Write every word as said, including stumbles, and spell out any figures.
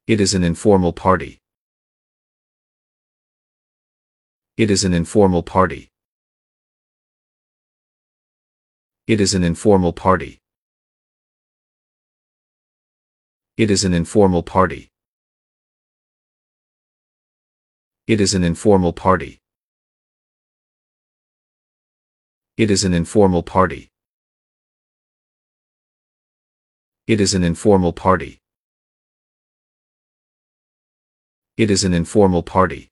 It is an informal party. It is an informal party. It is an informal party. It is an informal party. It is an informal party. It is an informal party. It is an informal party. It is an informal party.